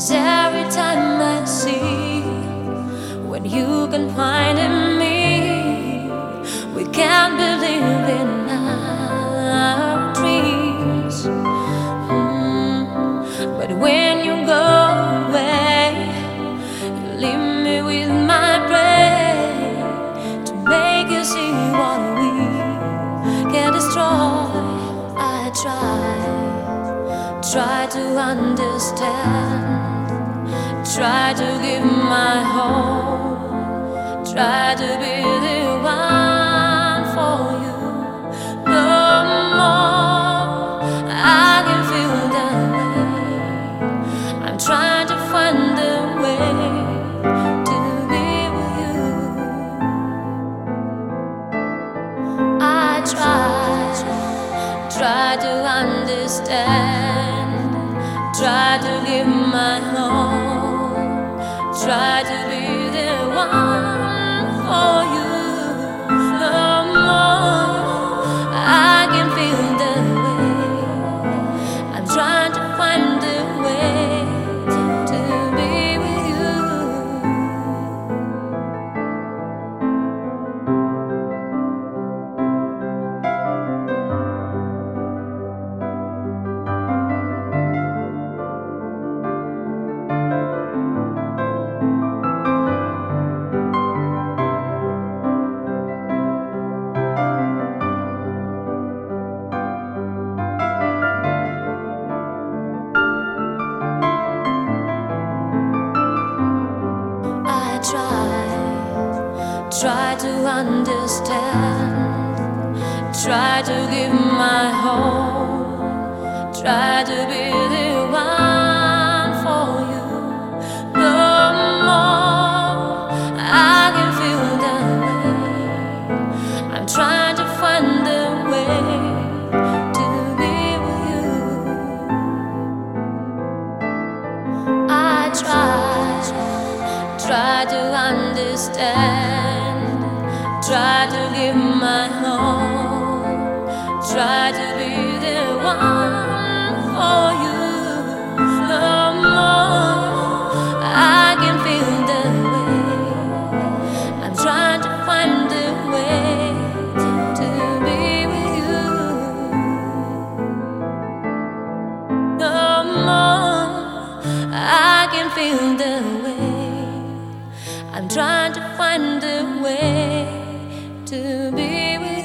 every time I see when you confide in me, we can't believe in our dreams. But when you go away, you leave me with my prayer to make you see what we can destroy. I try to understand, try to give my whole, try to be the one for you. No more I can feel that way. I'm trying to find a way to be with you. I try to understand, try to give my all, try to be the one for you. No more I can feel the way. I'm trying to find a way to be with you. Try to understand, try to give my whole, try to be the one for you. No more I can feel that way. I'm trying to find a way to be with you. I try to understand, try to give my all, try to be the one for you. No more I can feel the way. I'm trying to find a way to be with you. No more I can feel the way. I'm trying to find a way to be with you.